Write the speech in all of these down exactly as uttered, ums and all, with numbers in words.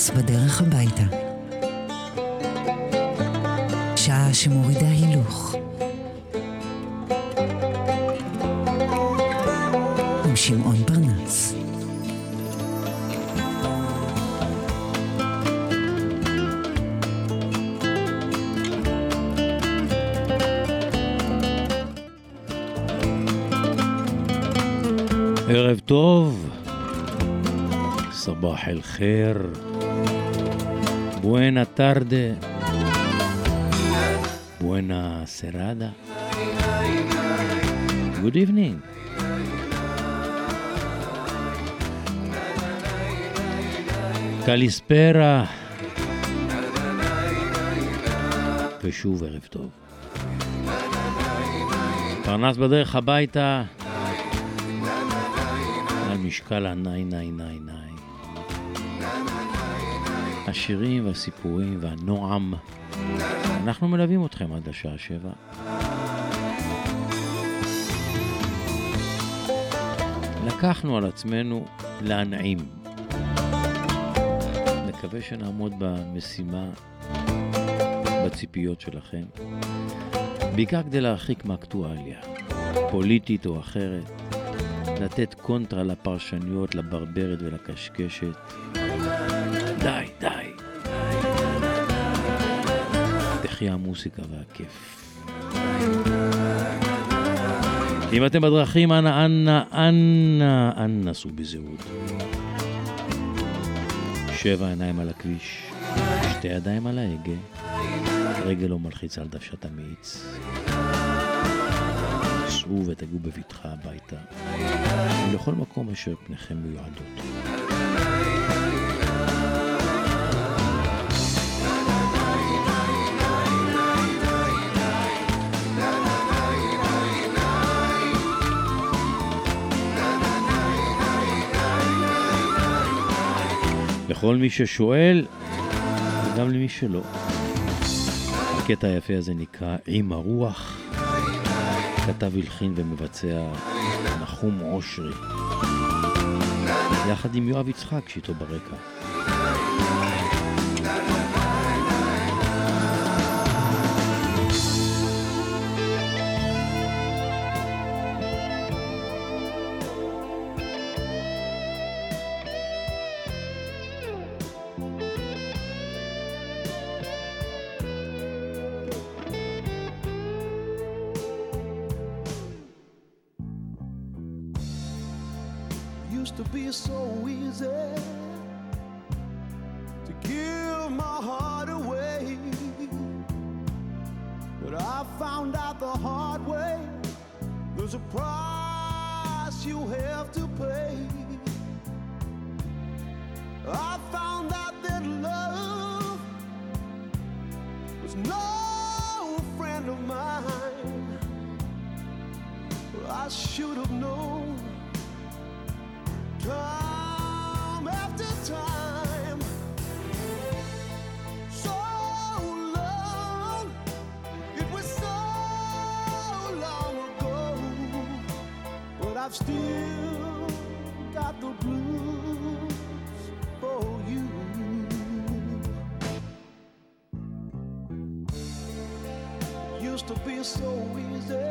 פרנס בדרך הביתה. שעה שמורידה הילוך. עם שמעון פרנס. ערב טוב, סבח אל חיר, buena tarde, buena serada, good evening. קליספרה, ושוב ערב טוב. פרנס בדרך הביתה, משקל הנאי נאי נאי נאי. השירים והסיפורים והנועם, אנחנו מלווים אתכם עד השעה שבע. לקחנו על עצמנו להנעים. מקווה שנעמוד במשימה, בציפיות שלכם, בעיקר כדי להרחיק מאקטואליה פוליטית או אחרת, לתת קונטרה לפרשניות, לברברת ולקשקשת. די, די. תחי המוסיקה והכיף. אם אתם בדרכים, אנא, אנא, אנא, אנא, סעו בזהירות. שבע עיניים על הכביש, שתי ידיים על ההגה, רגל לא מלחיץ על דוושת המאיץ. סעו ותגעו בבטחה הביתה, ולכל מקום אשר פניכם מיועדות. לכל מי ששואל, וגם למי שלא. הקטע היפה הזה נקרא עם הרוח, כתב הלחין ומבצע נחום אושרי, יחד עם יואב יצחק שאיתו ברקע. To be so easy to give my heart away, but I found out the hard way there's a price you have to pay. I found out that love was no friend of mine. I should have known time after time, so long, it was so long ago, but I've still got the blues for you. Used to be so easy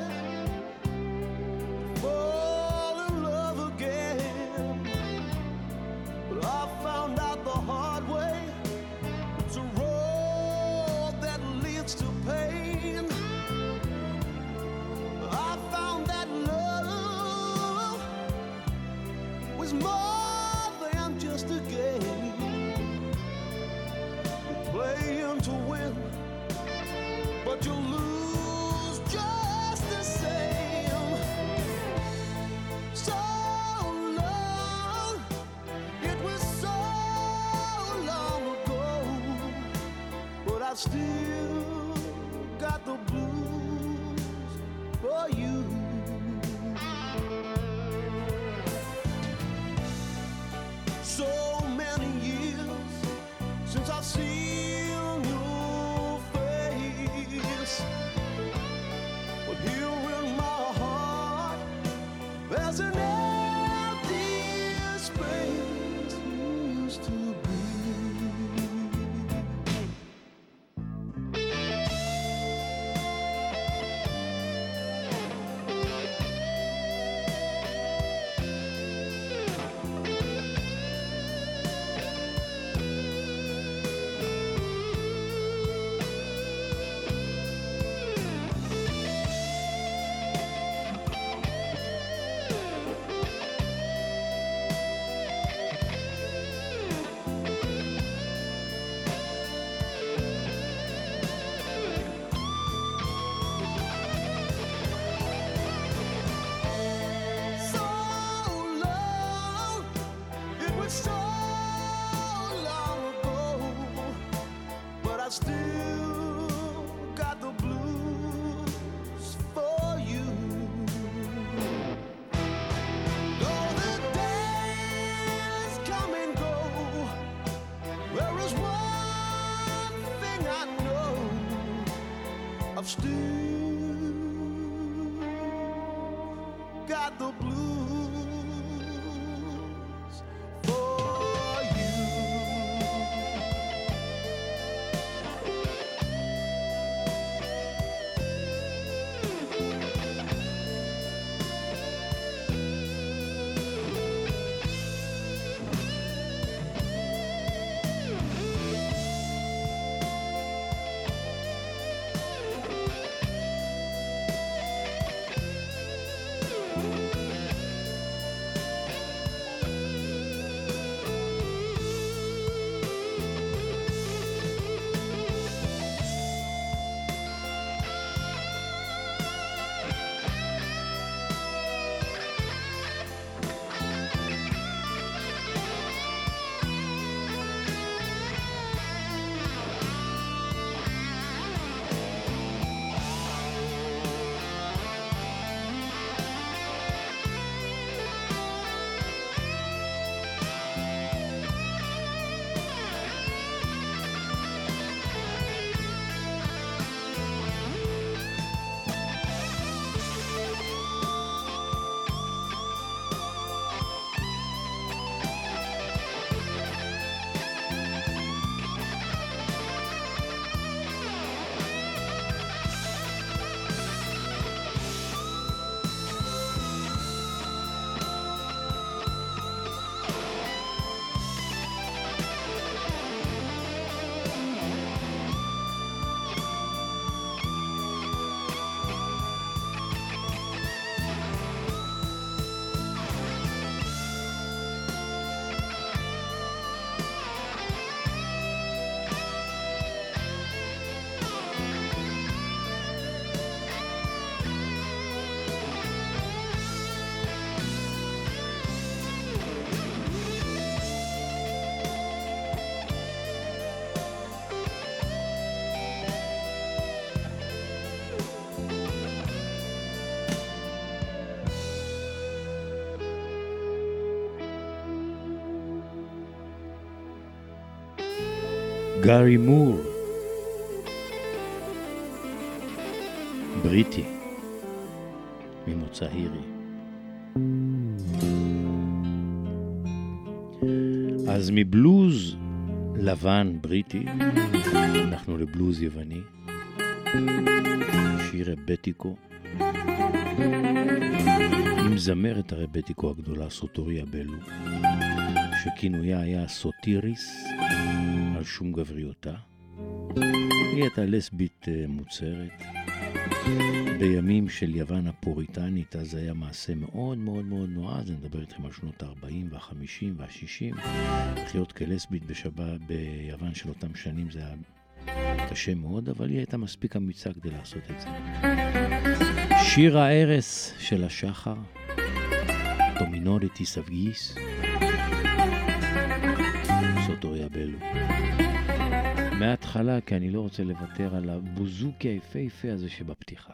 more than just a game. You're playing to win, but you lose just the same. So long, it was so long ago, but I still got the blues for you. So many years since I've seen your face, but here in my heart there's an empty space. Used to be I still got the blues for you. Though the days come and go, there is one thing I know, I've still got the blues for you. גארי מור, בריטי, ממוצא הירי. אז מבלוז לבן בריטי, אנחנו לבלוז יווני, שיר רבטיקו, עם זמרת הרבטיקו הגדולה סוטוריה בלו, שכינויה היה סוטיריס, על שום גבריותה. היא הייתה לסבית מוצרת. בימים של יוון הפוריטנית, אז היה מעשה מאוד מאוד מאוד נועז. אני מדבר איתכם על שנות ה-ארבעים וה-חמישים וה-שישים. לחיות כלסבית בשבה, ביוון של אותם שנים זה היה קשה מאוד, אבל היא הייתה מספיק אמיצה כדי לעשות את זה. שיר הערס של השחר, דומינוריטי סבגיס, סוטוריה בלו. מההתחלה, כי אני לא רוצה לוותר על הבוזוקי היפהפה הזה שבפתיחה.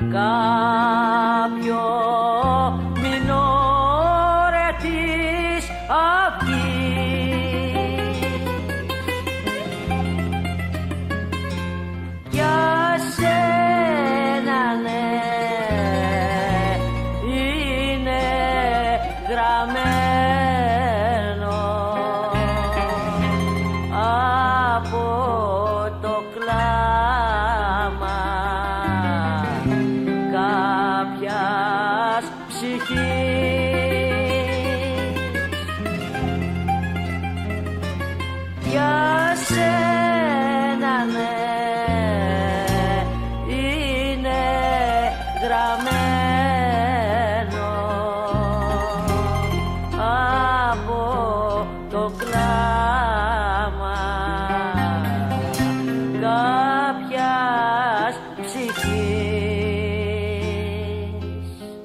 κάποιο μινόρε της αυγής. Για σένα ναι, είναι γραμμένο από το κλάμα κάποιας ψυχής. Για σένα ναι, είναι γραμμένο από το κλάμα κάποιας ψυχής.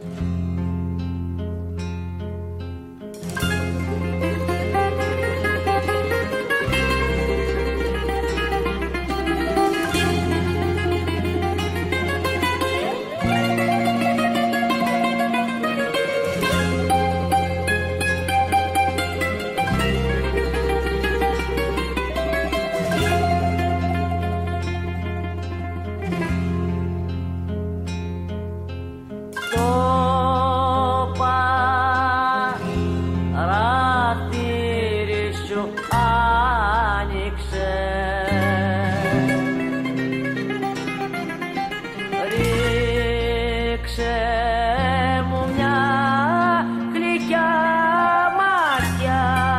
Το παράθυρι σου άνοιξε, ρίξε μου μια γλυκιά ματιά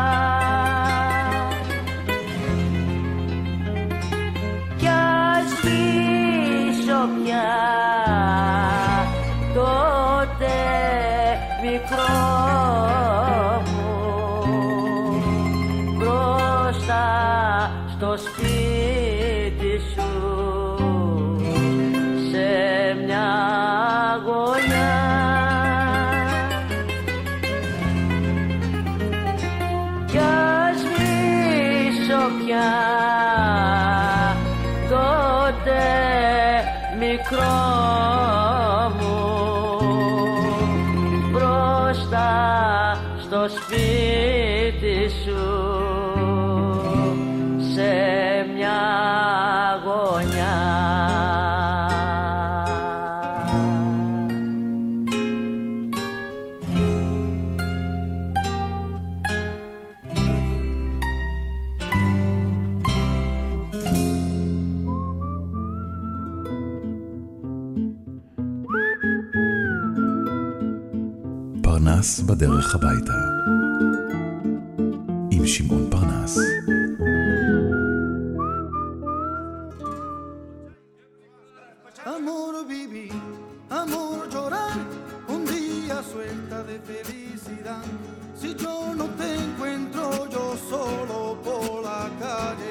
κι ας σβήσω πια τότε μικρό μου μπροστά στο σπίτι σου σε μια γωνιά. Κι ας σβήσω πια τότε μικρό μου μπροστά στο σπίτι σου σε μια γωνιά. פרנס בדרך הביתה עם שמעון פרנס. Amor vivir, amor llorar, un día suelta de felicidad. Si yo no te encuentro yo solo por la calle.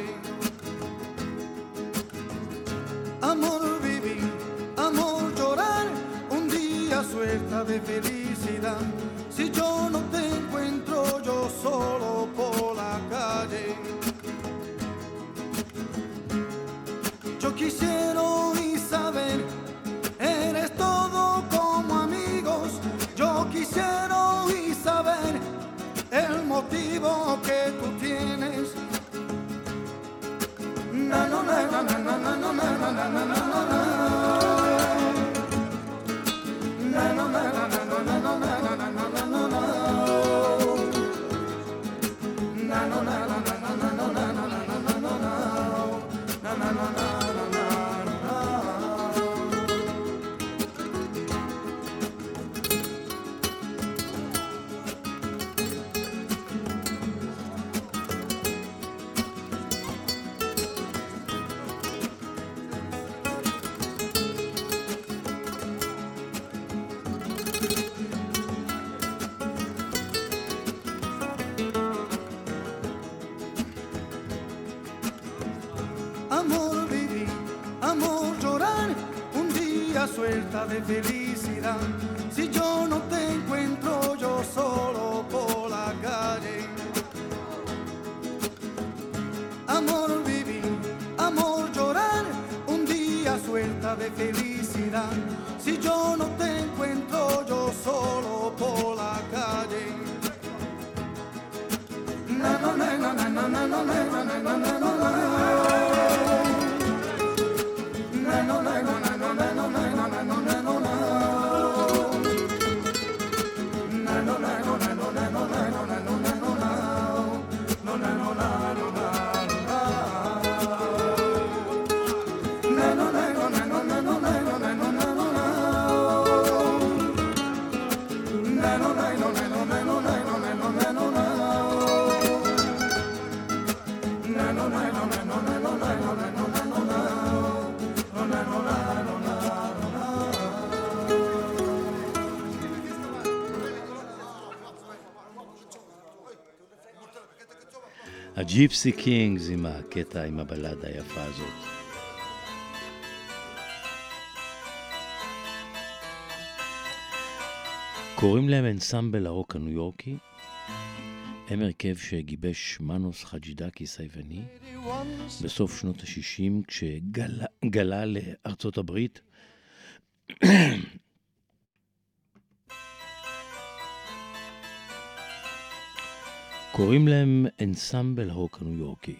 Amor vivir, amor llorar, un día suelta de felicidad. Si yo no te encuentro yo solo por la calle. Yo quisiera oír saber, eres todo como amigos. Yo quisiera oír saber el motivo que tú tienes. Na na na na na na na na na na na na na na. Na na na na na na na na na na na na na na. Na na na na na na na na na na na na na na. Na na na na. Amor vivir, amor llorar, un día suelta de felicidad. Si yo no te encuentro yo solo por la calle. Amor vivir, amor llorar, un día suelta de felicidad. Si yo no te encuentro yo solo por la calle. Na na na na na na na na na na na na na na. Na na na na na na na na na na na na na. Na na na na na na na na na na na na. No na no na no na. Na no na no na no na no na no na no na no na. Na no na no na no na no na no na no na no na. Na no na no na no na no na no na no na no na. No na no na no na no na. הג'יפסי קינגס עם הקטע, עם הבלדה היפה הזאת. קוראים להם אנסמבל הרוק הניו יורקי. הם הרכב שגיבש מנוס חג'ידקיס היווני בסוף שנות ה-שישים כשגלה לארצות הברית. קוראים להם אנסמבל הרוק הניו יורקי.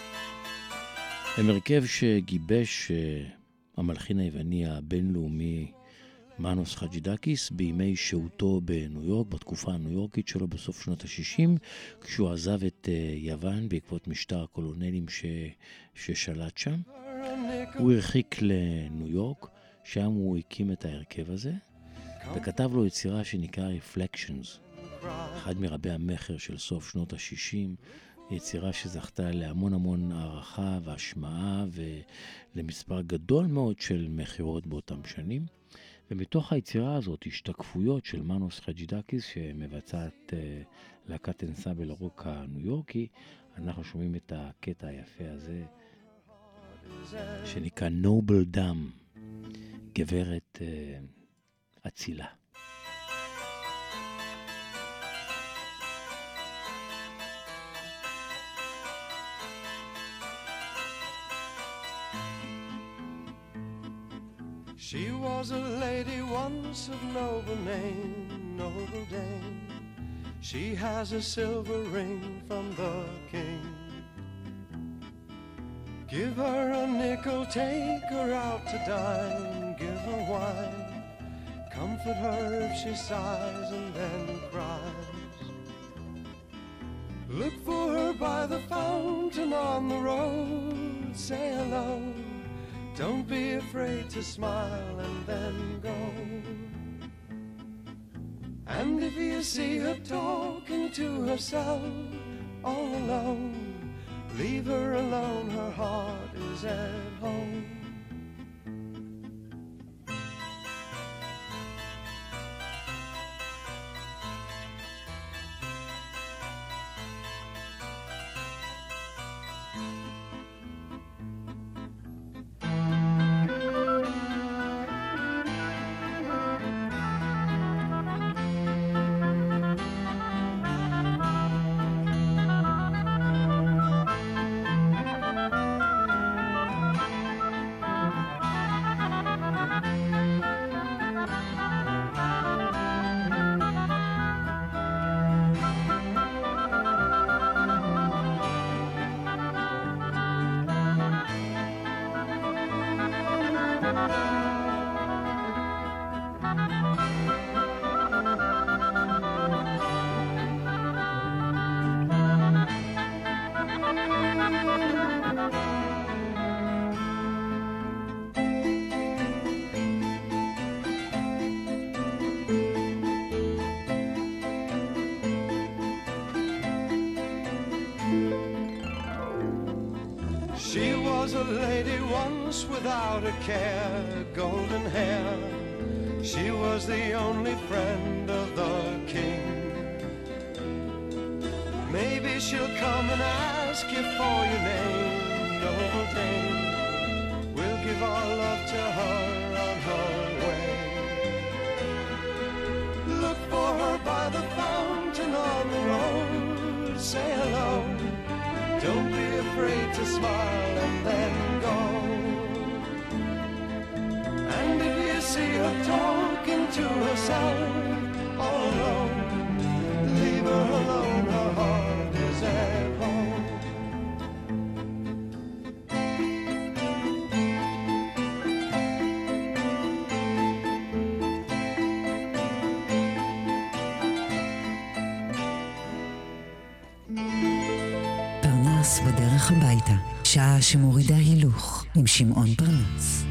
הם הרכב שגיבש המלחין היווני הבינלאומי מנוס חג'ידקיס בימי שהותו בניו יורק, בתקופה הניו יורקית שלו בסוף שנות ה-שישים, כשהוא עזב את יוון בעקבות משטר הקולונלים ש... ששלט שם. הוא הרחיק לניו יורק, שם הוא הקים את ההרכב הזה, וכתב לו יצירה שנקרא Reflections, אחד מרבי המחר של סוף שנות ה-שישים, יצירה שזכתה להמון המון הערכה והשמעה ולמספר גדול מאוד של מחירות באותם שנים. ומתוך היצירה הזאת, השתקפויות של מנוס חג'ידקיס שמבצעת uh, להקת אנסמבל הרוק הניו יורקי, אנחנו שומעים את הקטע היפה הזה שנקרא נובל דם, גברת uh, אצילה. She was a lady once of noble name, noble dame. She has a silver ring from the king. Give her a nickel, take her out to dine, give her wine. Comfort her if she sighs and then cries. Look for her by the fountain on the road, say hello. Don't be afraid to smile and then go. And if you see her talking to herself all alone, leave her alone, her heart is at home. She was a lady once without a care, golden hair. She was the only friend of the king. Maybe she'll come and ask you for your name, noble dame. We'll give our love to her on her way. Look for her by the fountain on the road, say hello. Don't be afraid to smile and then go. to herself all alone. Leave her alone, her heart is at home. פרנס בדרך הביתה, שעה שמורידה הילוך עם שמעון פרנס.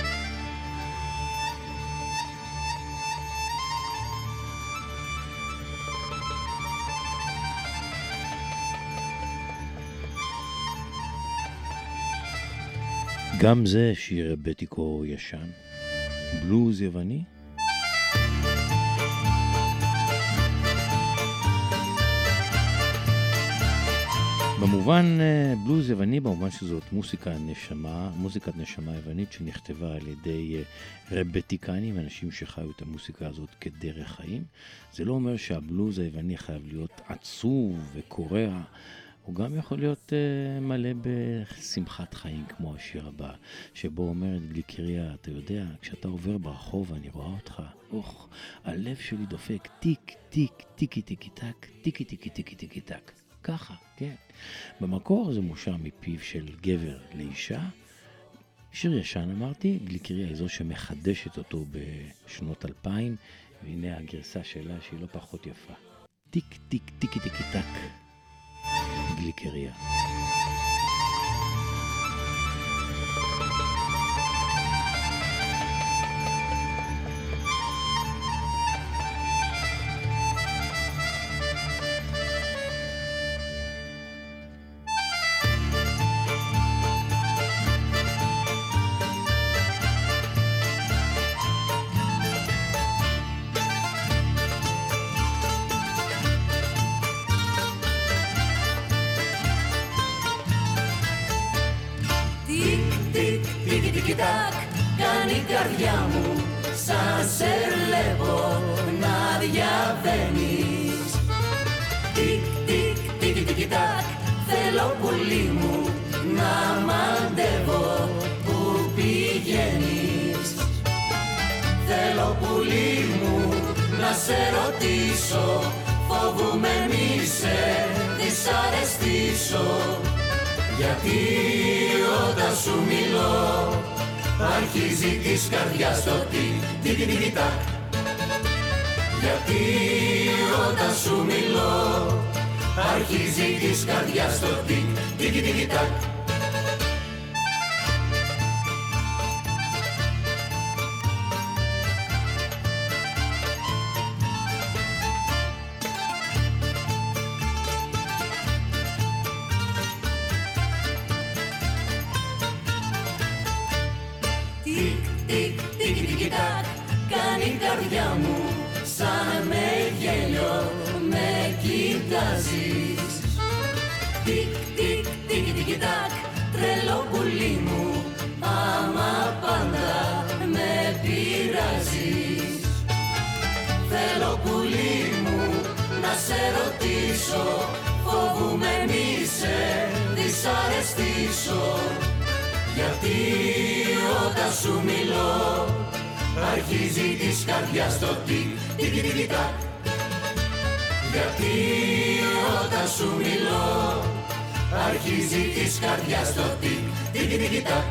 גם זה שיר רבטיקו ישן, בלוז יווני. במובן בלוז יווני, במובן שזאת מוסיקה נשמה, מוזיקת נשמה יוונית שנכתבה על ידי רבטיקנים, אנשים שחיו את המוסיקה הזאת כדרך חיים. זה לא אומר שהבלוז היווני חייב להיות עצוב וקורע, הוא גם יכול להיות uh, מלא בשמחת חיים, כמו השיר הבא, שבו אומרת גליקריה, אתה יודע, כשאתה עובר ברחוב ואני רואה אותך, אוח, הלב שלי דופק, טיק, טיק, טיקי, טיקי, טק, טיקי, טיקי, טיקי, טיקי, טק. ככה, כן. במקור זה מושר מפיו של גבר לאישה. שיר ישן אמרתי, גליקריה היא זו שמחדשת אותו בשנות אלפיים, והנה הגרסה שלה שהיא לא פחות יפה. טיק, טיק, טיקי, טיקי, טק. גליקריה. Κάνει η καρδιά μου σαν σε βλέπω να διαβαίνεις. Τικ, τικ, τικ, τικ, τακ, θέλω πουλί μου να μαντεύω που πηγαίνεις. Θέλω πουλί μου να σε ρωτήσω, φοβούμαι μη σε δυσαρεστήσω. Γιατί όταν σου μιλώ αρχίζει της καρδιάς το τικ, τικ, τικ, τακ. Γιατί όταν σου μιλώ αρχίζει της καρδιάς το τικ, τικ, τικ, τακ. Σαν με γέλιο με κοιτάζεις. Τικ, τικ, τικ, τικ, τακ, τρελό πουλί μου, άμα πάντα με πειράζεις. Θέλω πουλί μου να σε ρωτήσω, φοβούμαι μη σε δυσαρεστήσω. Γιατί όταν σου μιλώ αρχίζει της καρδιάς το τικ, τικ, τικ, τακ. Γιατί όταν σου μιλώ αρχίζει της καρδιάς το τικ, τικ, τικ, τακ.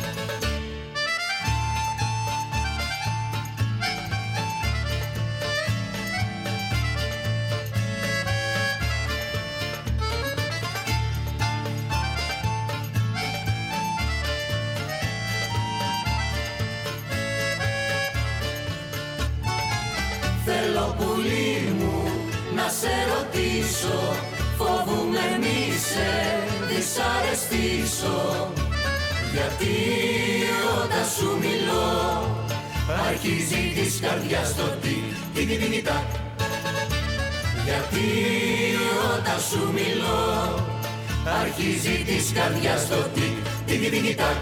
Θέλω πουλί μου να σε ρωτήσω, φοβούμαι μη σε δυσαρεστήσω. Γιατί όταν σου μιλώ αρχίζει της καρδιάς το τικ, τικ, τικ, τακ. Γιατί όταν σου μιλώ αρχίζει της καρδιάς το τικ, τικ, τικ, τακ.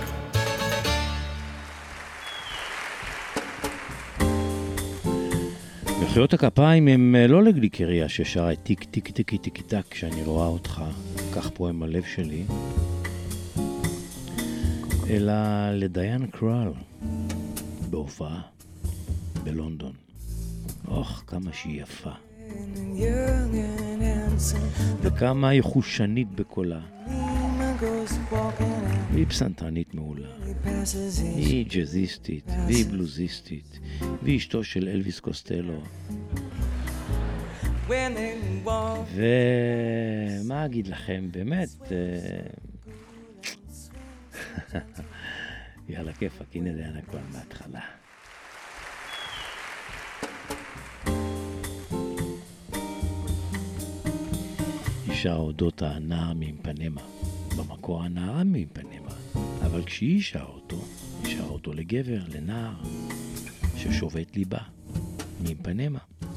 מחיאות הכפיים הם לא לגליקריה ששרה טיק טיק טיק טיק טק כשאני רואה אותך, כך פועם הלב שלי, אלא לדיין קרל בהופעה בלונדון. אוח, כמה שהיא יפה. וכמה היא חושנית בקולה. והיא פסנתרנית מעולה. היא ג'זיסטית, והיא בלוזיסטית, והיא אשתו של אלוויס קוסטלו. ומה אגיד לכם, באמת, יאללה כיפק, הנה זה היה כבר מההתחלה. אישה אודות הנער מאיפנמה, במקור הנערה מאיפנמה, אבל כשהיא אישה אותו, אישה אותו לגבר, לנער, ששובת ליבה, מאיפנמה.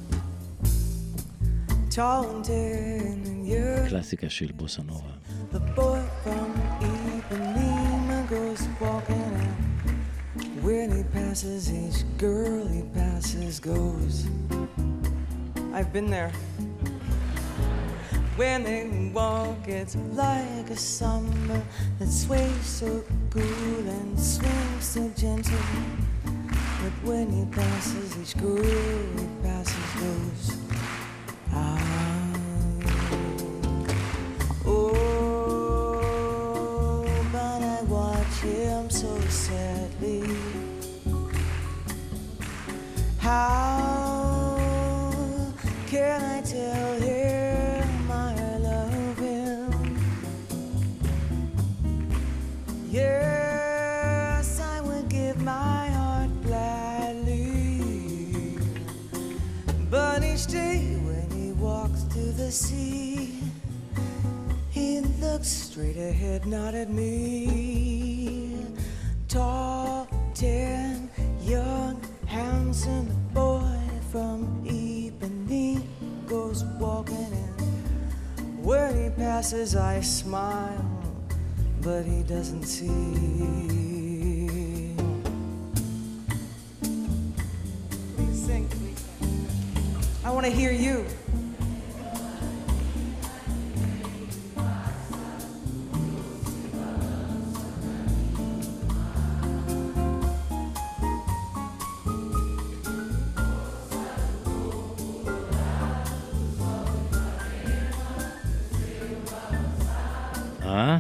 קלאסיקה של בוסה נובה. The boy from Ipanema goes walking out. When he passes each girl he passes goes. I've been there. When they walk it's like a summer that sways so cool and swings so gentle. But when he passes each girl he passes goes. Ah. Him so sadly. How can I tell him I love him? Yes, I would give my heart gladly. But each day when he walks to the sea, he looks straight ahead, not at me. Tall, tan, young, handsome boy from Ipanema goes walking in. When he passes I smile, but he doesn't see. Please sing, please sing. I want to hear you. אה?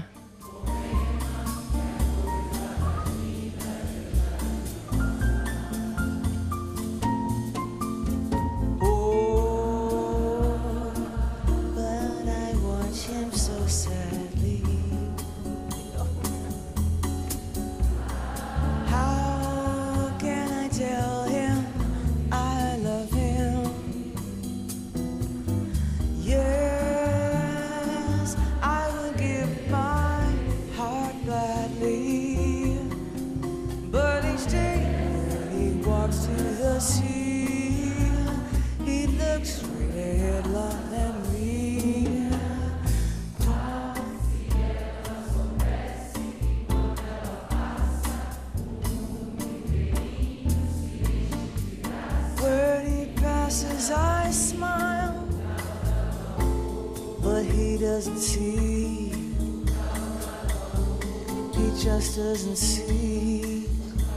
Doesn't see.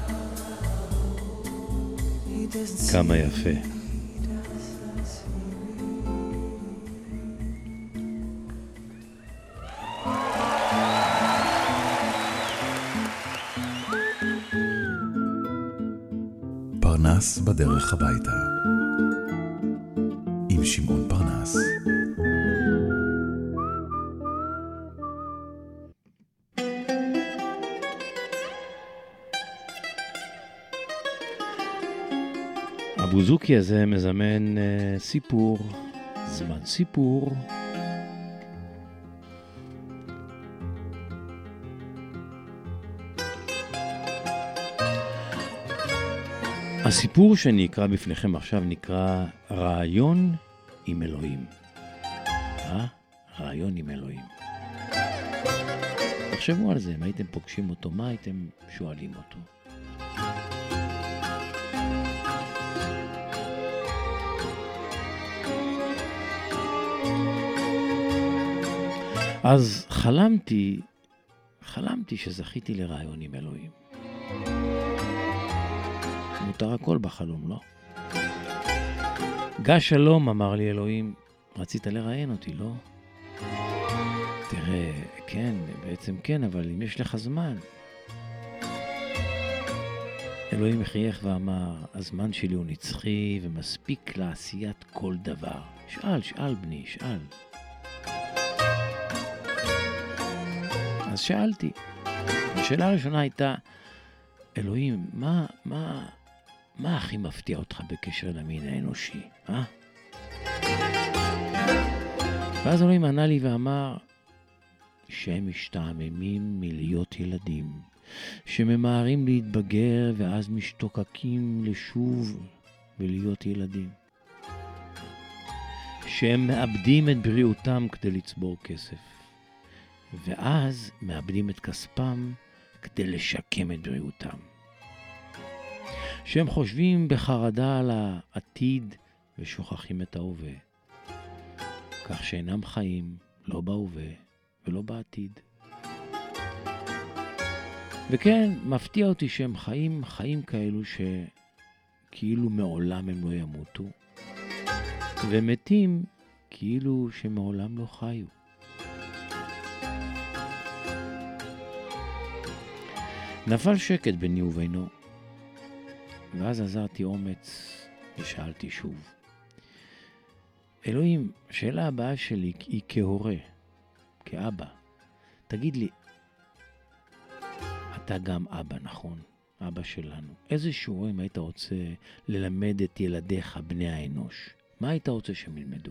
He doesn't see. כמה יפה. פרנס בדרך הביתה. עם שמעון פרנס. הבוזוקי הזה מזמן uh, סיפור, זמן סיפור. הסיפור שאני אקרא בפניכם עכשיו נקרא רעיון עם אלוהים. אה? רעיון עם אלוהים. תחשבו על זה, אם הייתם פוגשים אותו, מה הייתם שואלים אותו? אז חלמתי, חלמתי שזכיתי לרעיון עם אלוהים. מותר הכל בחלום, לא? גש שלום, אמר לי אלוהים, רצית לראיין אותי, לא? תראה, כן, בעצם כן, אבל אם יש לך זמן. אלוהים חייך ואמר, הזמן שלי הוא נצחי ומספיק לעשיית כל דבר. שאל, שאל בני, שאל. אז שאלתי. השאלה הראשונה הייתה, אלוהים, מה, מה, מה הכי מפתיע אותך בקשר למין האנושי, אה? ואז אלוהים ענה לי ואמר, שהם משתעממים מלהיות ילדים, שממהרים להתבגר ואז משתוקקים לשוב ולהיות ילדים. שהם מאבדים את בריאותם כדי לצבור כסף, ואז מאבדים את כספם כדי לשקם את בריאותם. שהם חושבים בחרדה על העתיד ושוכחים את ההווה, כך שאינם חיים לא בהווה ולא בעתיד. וכן, מפתיע אותי שהם חיים חיים כאלו שכאילו מעולם הם לא ימותו, ומתים כאילו שמעולם לא חיו. נפל שקט ביני ובינו, ואז עזרתי אומץ ושאלתי שוב. אלוהים, השאלה הבאה שלי היא כהורה, כאבא. תגיד לי, אתה גם אבא, נכון? אבא שלנו. איזה שיעורים היית רוצה ללמד את ילדיך, בני האנוש? מה היית רוצה שהם ילמדו?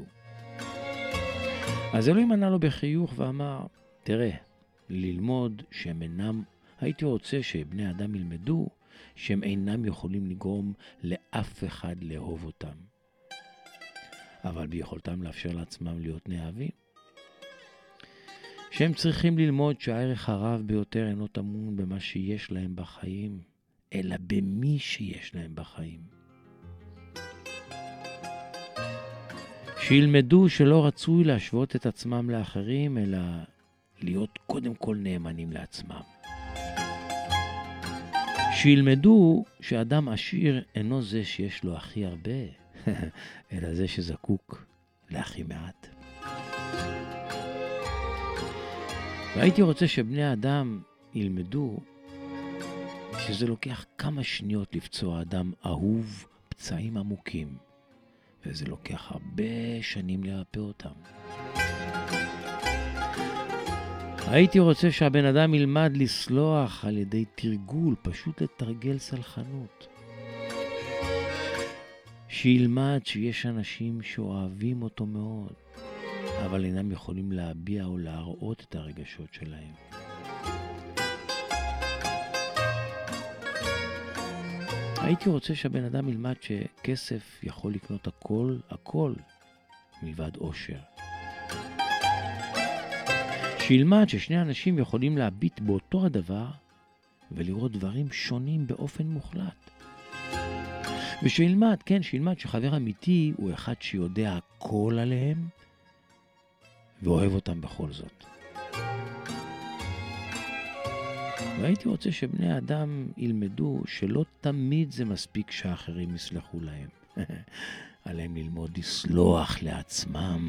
אז אלוהים ענה לו בחיוך ואמר, תראה, ללמוד שהם אינם, הייתי רוצה שבני אדם ילמדו שהם אינם יכולים לגרום לאף אחד לאהוב אותם, אבל ביכולתם לאפשר לעצמם להיות נאהבים. שהם צריכים ללמוד שהערך הרב ביותר אינו טמון במה שיש להם בחיים, אלא במי שיש להם בחיים. שילמדו שלא רצוי להשוות את עצמם לאחרים, אלא להיות קודם כל נאמנים לעצמם. שילמדו שאדם עשיר אינו זה שיש לו הכי הרבה, אלא זה שזקוק להכי מעט. והייתי רוצה שבני האדם ילמדו שזה לוקח כמה שניות לפצוע אדם אהוב פצעים עמוקים, וזה לוקח הרבה שנים לרפא אותם. הייתי רוצה שהבן אדם ילמד לסלוח על ידי תרגול, פשוט לתרגל סלחנות. שילמד שיש אנשים שאוהבים אותו מאוד, אבל אינם יכולים להביע או להראות את הרגשות שלהם. הייתי רוצה שהבן אדם ילמד שכסף יכול לקנות הכל, הכל, מלבד אושר. שילמד ששני אנשים יכולים להביט באותו הדבר ולראות דברים שונים באופן מוחלט. ושילמד, כן, שילמד שחבר אמיתי הוא אחד שיודע הכל עליהם ואוהב אותם בכל זאת. והייתי רוצה שבני האדם ילמדו שלא תמיד זה מספיק שאחרים יסלחו להם. עליהם ללמוד לסלוח לעצמם.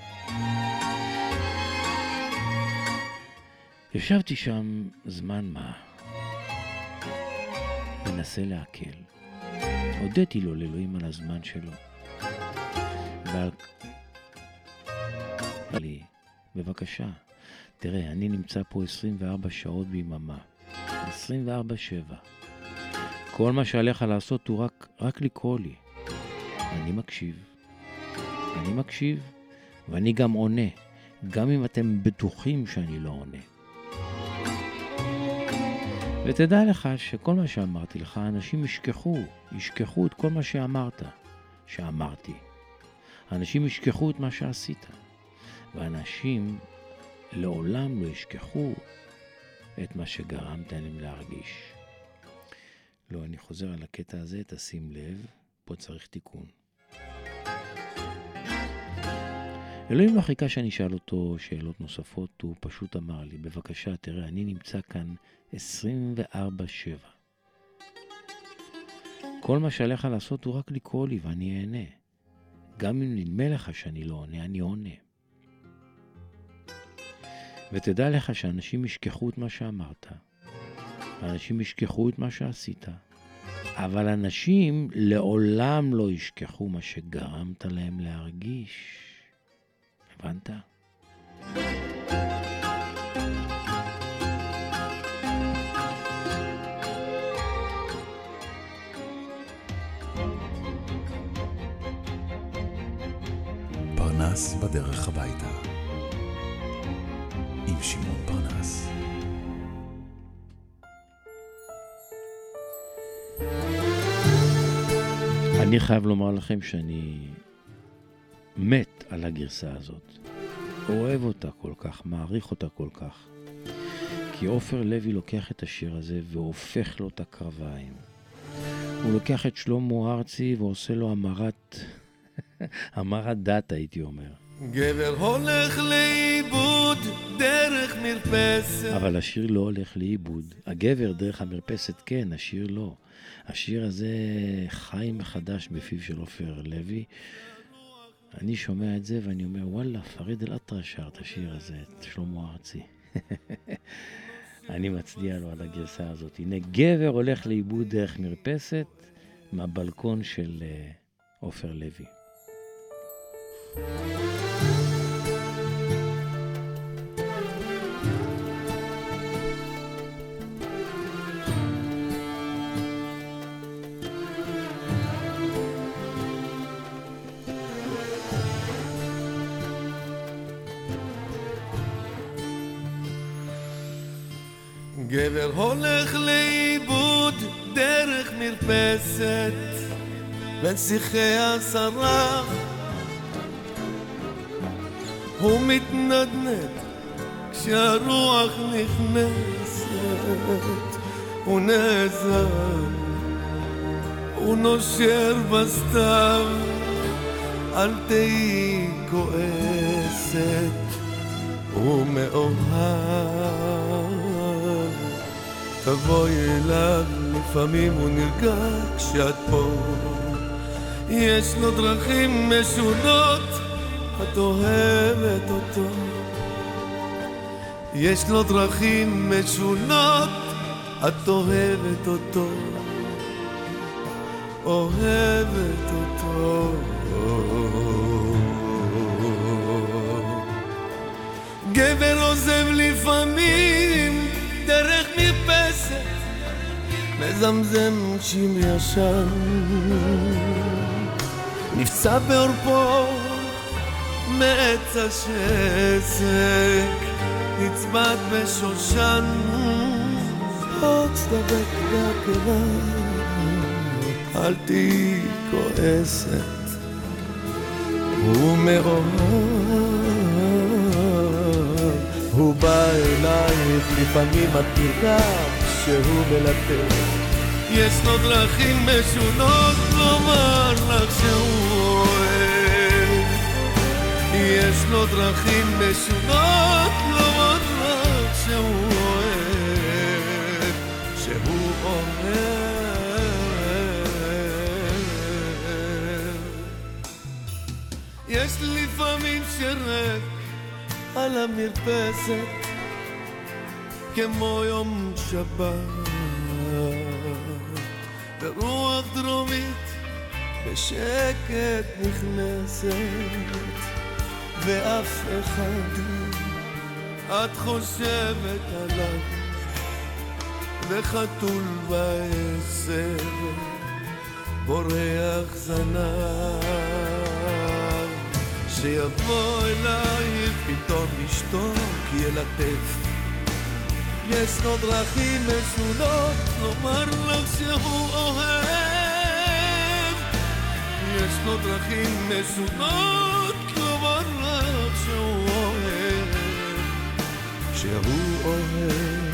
ישבתי שם זמן מה, מנסה להקל. הודיתי לו לאלוהים על הזמן שלו. ועל... לי, בבקשה, תראה, אני נמצא פה עשרים וארבע שעות ביממה. עשרים וארבע שבע. כל מה שעליך לעשות הוא רק, רק לקרוא לי. אני מקשיב. אני מקשיב, ואני גם עונה, גם אם אתם בטוחים שאני לא עונה. ותדע לך שכל מה שאמרתי לך, אנשים ישכחו, ישכחו את כל מה שאמרת, שאמרתי. אנשים ישכחו את מה שעשית, ואנשים לעולם לא ישכחו את מה שגרמת להם להרגיש. לא, אני חוזר על הקטע הזה, תשים לב, פה צריך תיקון. אלוהים לא חיכה שאני אשאל אותו שאלות נוספות, הוא פשוט אמר לי, בבקשה, תראה, אני נמצא כאן עשרים וארבע שבע. כל מה שעליך לעשות הוא רק לקרוא לי ואני אענה. גם אם נדמה לך שאני לא עונה, אני עונה. ותדע לך שאנשים ישכחו את מה שאמרת. אנשים ישכחו את מה שעשית. אבל אנשים לעולם לא ישכחו מה שגרמת להם להרגיש. הבנת? פרנס בדרך הביתה עם שמעון פרנס. אני חייב לומר לכם שאני מת על הגרסה הזאת. אוהב אותה כל כך, מעריך אותה כל כך. כי עופר לוי לוקח את השיר הזה והופך לו את הקרביים. הוא לוקח את שלמה ארצי ועושה לו המרת, המרת דת הייתי אומר. גבר הולך לאיבוד דרך מרפסת. אבל השיר לא הולך לאיבוד. הגבר דרך המרפסת כן, השיר לא. השיר הזה חי מחדש בפיו של עופר לוי. אני שומע את זה ואני אומר, וואלה, פריד אל-אטרש שר את השיר הזה, את שלמה ארצי. אני מצדיע לו על הגרסה הזאת. הנה, גבר הולך לאיבוד דרך מרפסת מהבלקון של עופר לוי. גבר הולך לאיבוד דרך מרפסת בין שיחי השרח, הוא מתנדנד כשהרוח נכנסת, הוא נעזר, הוא נושר בסתיו, אל תהי כועסת, הוא מאוהב, תבואי אליו, לפעמים הוא נרגע כשאת פה, יש לו דרכים משונות, את אוהבת אותו, יש לו דרכים משונות, את אוהבת אותו, אוהבת אותו. גבר עוזב לפעמים דרך מרפסת, מזמזם שיר ישן, נפצע בעורפו מעץ השסק, נצבט בשושן, עוד סדבק בקרה, אל תהי כועסת, הוא מאוהב, הוא בא אלייך, לפעמים את נרגעת שהוא מלטף, יש לו דרכים משונות לומר לך שהוא אוהב, יש לו דרכים משונות לומר לך שהוא אוהב, שהוא אוהב. יש לפעמים שרק על המרפסת כמו יום שבת, ברוח דרומית בשקט נכנסת, ואף אחד את חושבת עליו, וחתול בעשר בורח זנב, שיבוא אליי פתאום ישתוק ילטף, יש לו דרכים משונות לומר לך שהוא אוהב, יש לו דרכים משונות לומר לך שהוא אוהב, שהוא אוהב.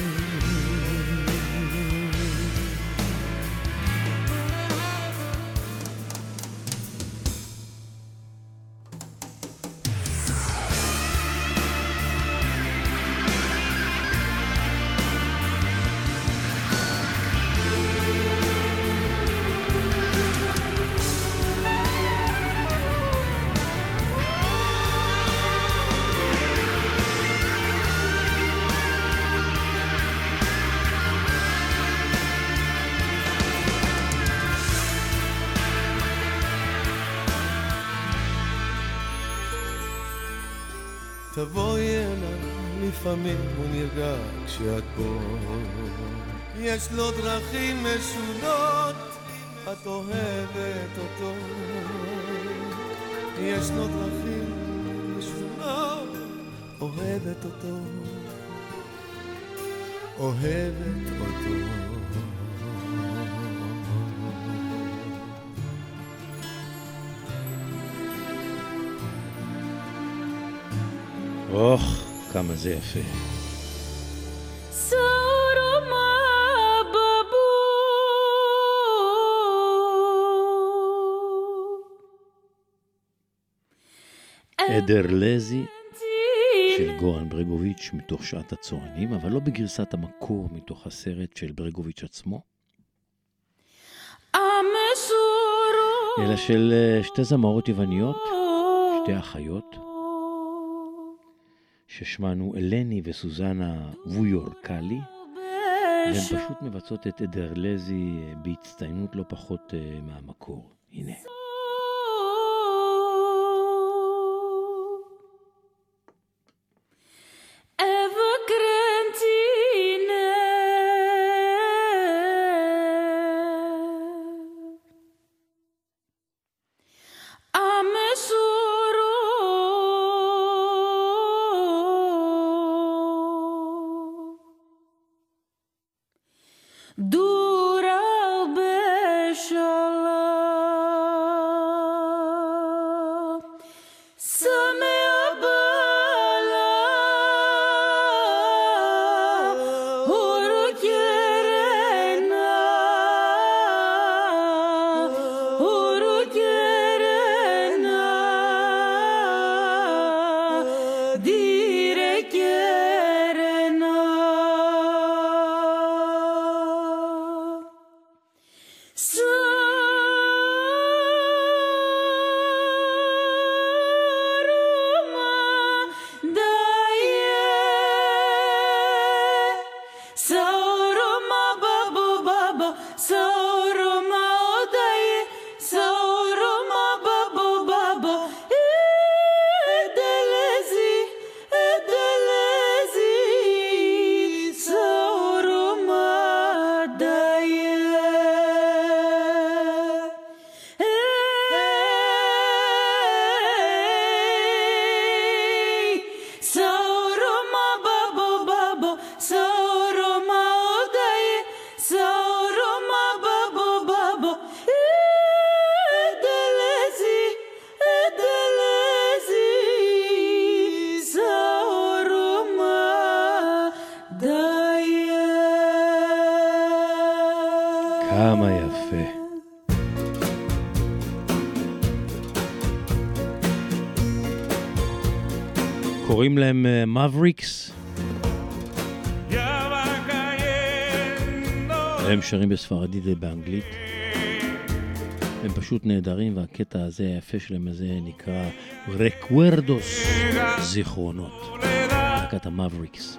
תבואי אליי, לפעמים הוא נרגע כשאת בו. יש לו דרכים משונות, את אוהבת אותו. יש לו דרכים משונות, אוהבת אותו. אוהבת אותו. אוח, כמה זה יפה. אדרלזי של גורן ברגוביץ' מתוך שעת הצוענים, אבל לא בגרסת המקור מתוך הסרט של ברגוביץ' עצמו, אלא של שתי זמרות יווניות, שתי אחיות, ששמענו אלני וסוזנה וויורקלי, והן פשוט מבצעות את אדרלזי בהצטיינות לא פחות מהמקור. הנה. כמה יפה. קוראים להם מאבריקס. הם שרים בספרדית ובאנגלית. הם פשוט נהדרים, והקטע הזה היפה שלהם הזה נקרא רקוורדוס, זיכרונות. להקת המאבריקס.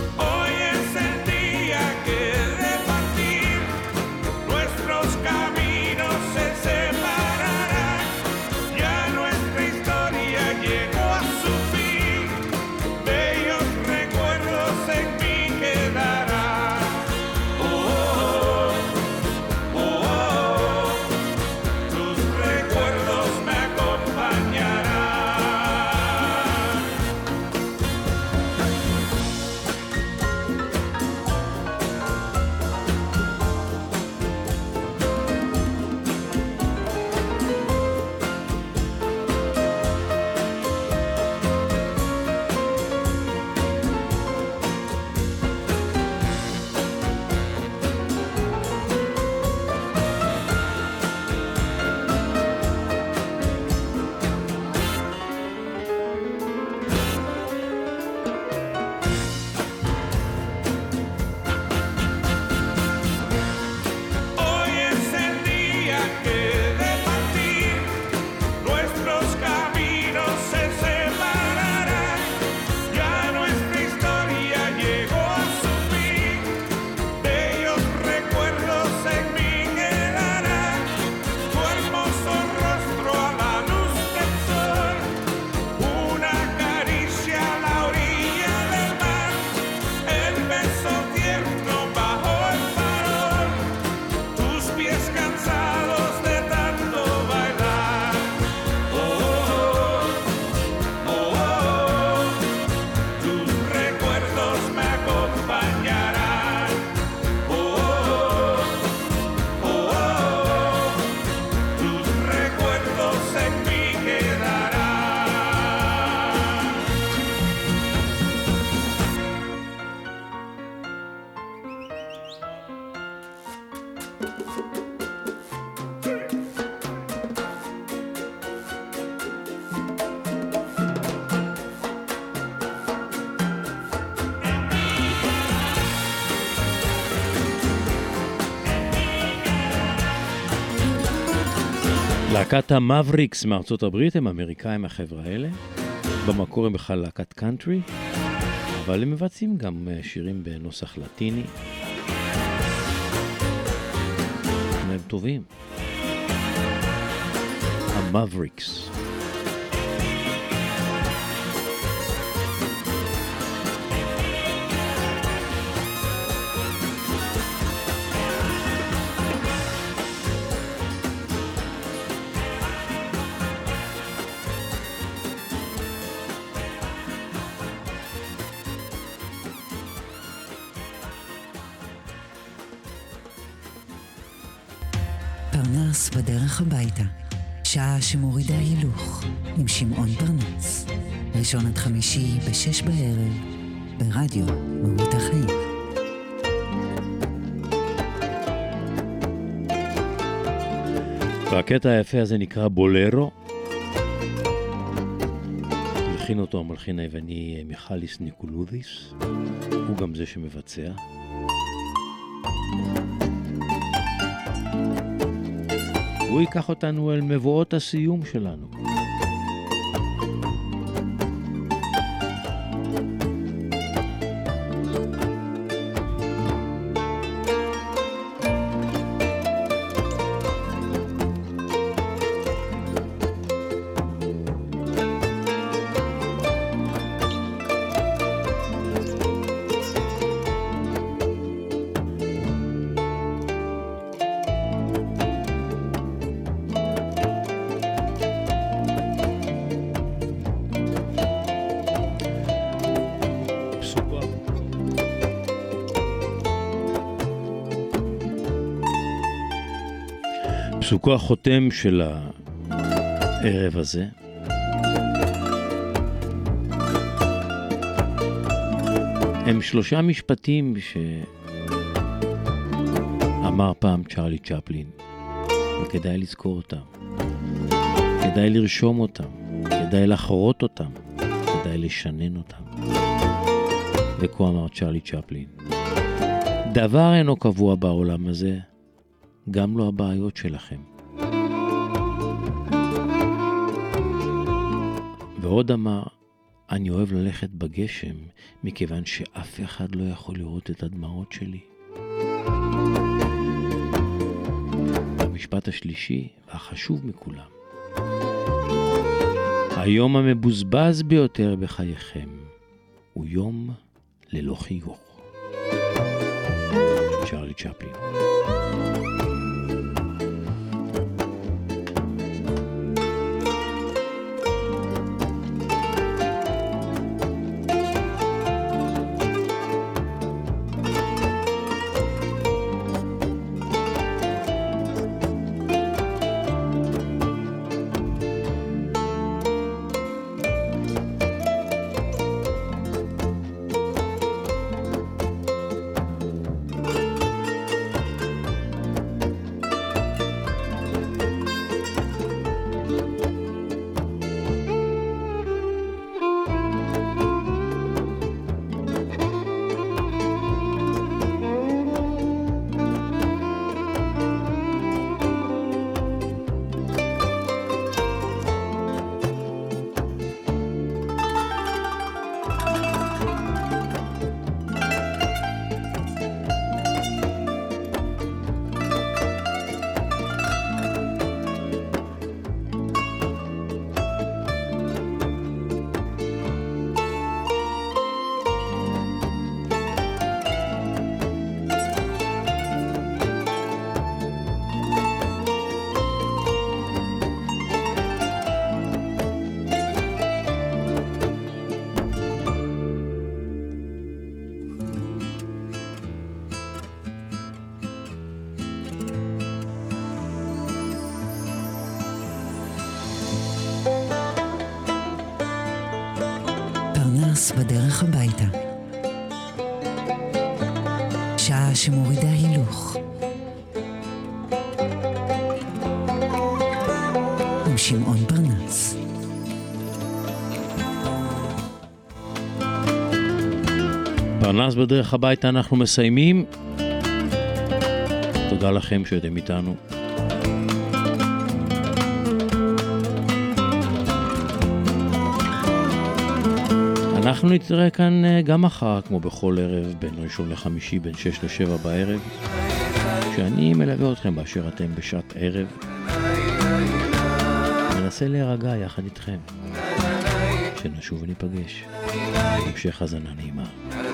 Hoy es el día que de partir nuestros caminos להקת המאבריקס מארצות הברית, הם אמריקאים החבר'ה האלה. במקור הם בכלל להקת קאנטרי, אבל הם מבצעים גם שירים בנוסח לטיני. הם טובים. המאבריקס. פרנס בדרך הביתה, שעה שמורידה הילוך, עם שמעון פרנס. ראשון עד חמישי בשש בערב, ברדיו מהות החיים. והקטע היפה הזה נקרא בולרו. הלחין אותו המלחין היווני מיכאליס ניקולודיס, הוא גם זה שמבצע. הוא ייקח אותנו אל מבואות הסיום שלנו. פסוקו החותם של הערב הזה הם שלושה משפטים שאמר פעם צ'רלי צ'פלין, וכדאי לזכור אותם, כדאי לרשום אותם, כדאי לחרות אותם, כדאי לשנן אותם. וכה אמר צ'רלי צ'פלין: דבר אינו קבוע בעולם הזה, גם לא הבעיות שלכם. ועוד אמר: אני אוהב ללכת בגשם, מכיוון שאף אחד לא יכול לראות את הדמעות שלי. המשפט השלישי, והחשוב מכולם: היום המבוזבז ביותר בחייכם, הוא יום ללא חיוך. צ'רלי צ'פלין. בדרך הביתה, שעה שמורידה הילוך, שמעון פרנס. פרנס בדרך הביתה אנחנו מסיימים. תודה לכם שאתם איתנו. אנחנו נתראה כאן גם מחר, כמו בכל ערב, בין ראשון לחמישי, בין שש לשבע בערב, שאני מלווה אתכם באשר אתם בשעת ערב. מנסה להירגע יחד איתכם. שנשוב וניפגש. המשך הזנה נעימה.